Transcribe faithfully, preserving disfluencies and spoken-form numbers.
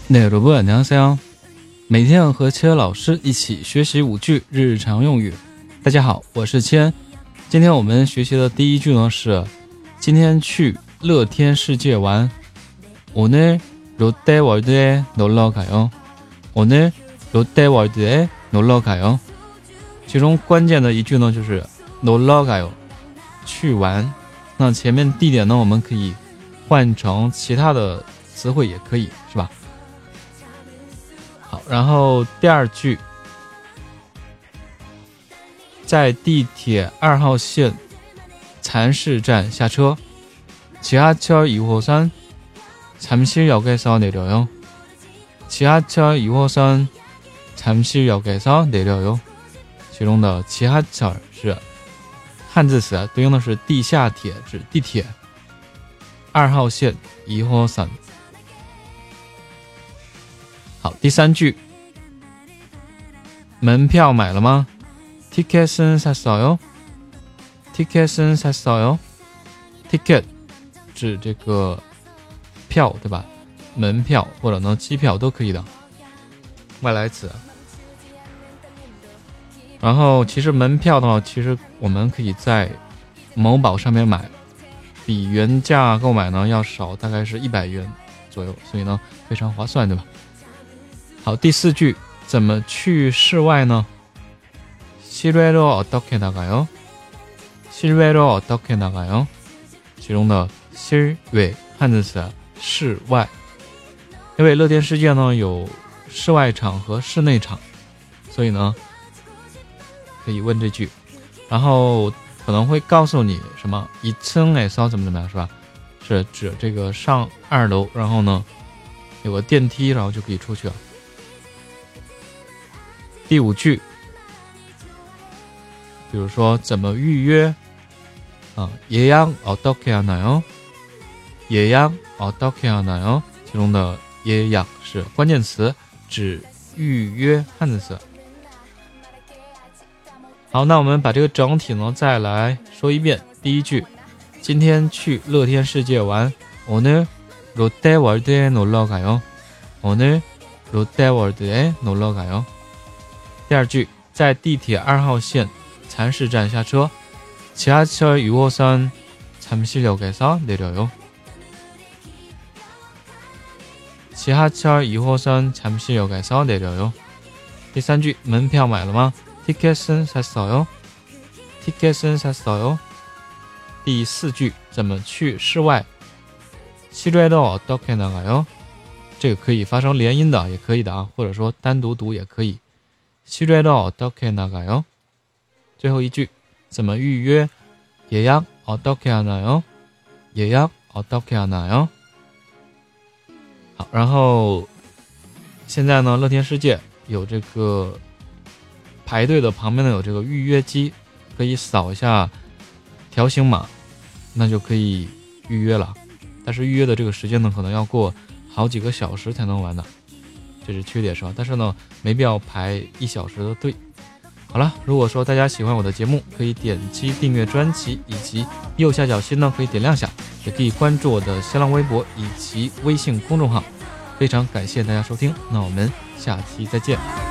네 여러분 안녕하세요。每天和千老师一起学习五句日常用语。大家好，我是千。今天我们学习的第一句呢是今天去乐天世界玩。오늘 롯데월드에 놀러 가요。오늘 롯데월드에 놀러 가요。其中关键的一句呢就是 놀러 가요， 去玩。那前面地点呢我们可以换成其他的词汇也可以，是吧？好，然后第二句，在地铁二号线蚕市站下车。지하철 이 호선 잠실역에서 내려요。지하철 이 호선 잠실역에서 내려요。其中的지하철是汉字词，对应的是地下铁，指地铁。二号线이 호선。好，第三句，门票买了吗？ 티켓은 샀어요？ 티켓은 샀어요？ ticket 指这个票，对吧？门票或者呢机票都可以的外来词。然后其实门票的话，其实我们可以在某宝上面买，比原价购买呢要少，大概是一百元左右，所以呢非常划算，对吧？好，第四句，怎么去室外呢？ 실외로 어떻게 나가요？ 실외로 어떻게 나가요？ 其中的실외汉字词室外，因为乐天世界呢有室外场和室内场，所以呢可以问这句，然后可能会告诉你什么이 층에서怎么怎么样，是吧？是指这个上二楼，然后呢有个电梯，然后就可以出去了。第五句，比如说怎么预约啊？ 예약 어떻게 하나요？ 예약 어떻게 하나요？ 其中的예약是关键词，指预约汉字词。好，那我们把这个整体呢再来说一遍。第一句，今天去乐天世界玩。 오늘 롯데월드에 놀러 가요。 오늘 롯데월드에 놀러 가요。 第二句，在地铁二号线蚕市站下车。 지하철 이 호선 잠실역에서 내려요。 지하철 이 호선 잠실역에서 내려요。 第三句，门票买了吗？ 티켓은 샀어요。 티켓은 샀어요。 第四句，怎么去室外？ 실외로 어떻게 나가요？ 这个可以发生连音的，也可以的啊，或者说单独读也可以。실외로 어떻게 나가요？ 最后一句，怎么预约？ 예약 어떻게 하나요？ 예약 어떻게 하나요？ 好，然后现在呢，乐天世界有这个排队的旁边呢有这个预约机，可以扫一下条形码，那就可以预约了。但是预约的这个时间呢，可能要过好几个小时才能完的，这是缺点，是吧？但是呢，没必要排一小时的队。好了，如果说大家喜欢我的节目，可以点击订阅专辑，以及右下角心呢可以点亮下，也可以关注我的新浪微博以及微信公众号。非常感谢大家收听，那我们下期再见。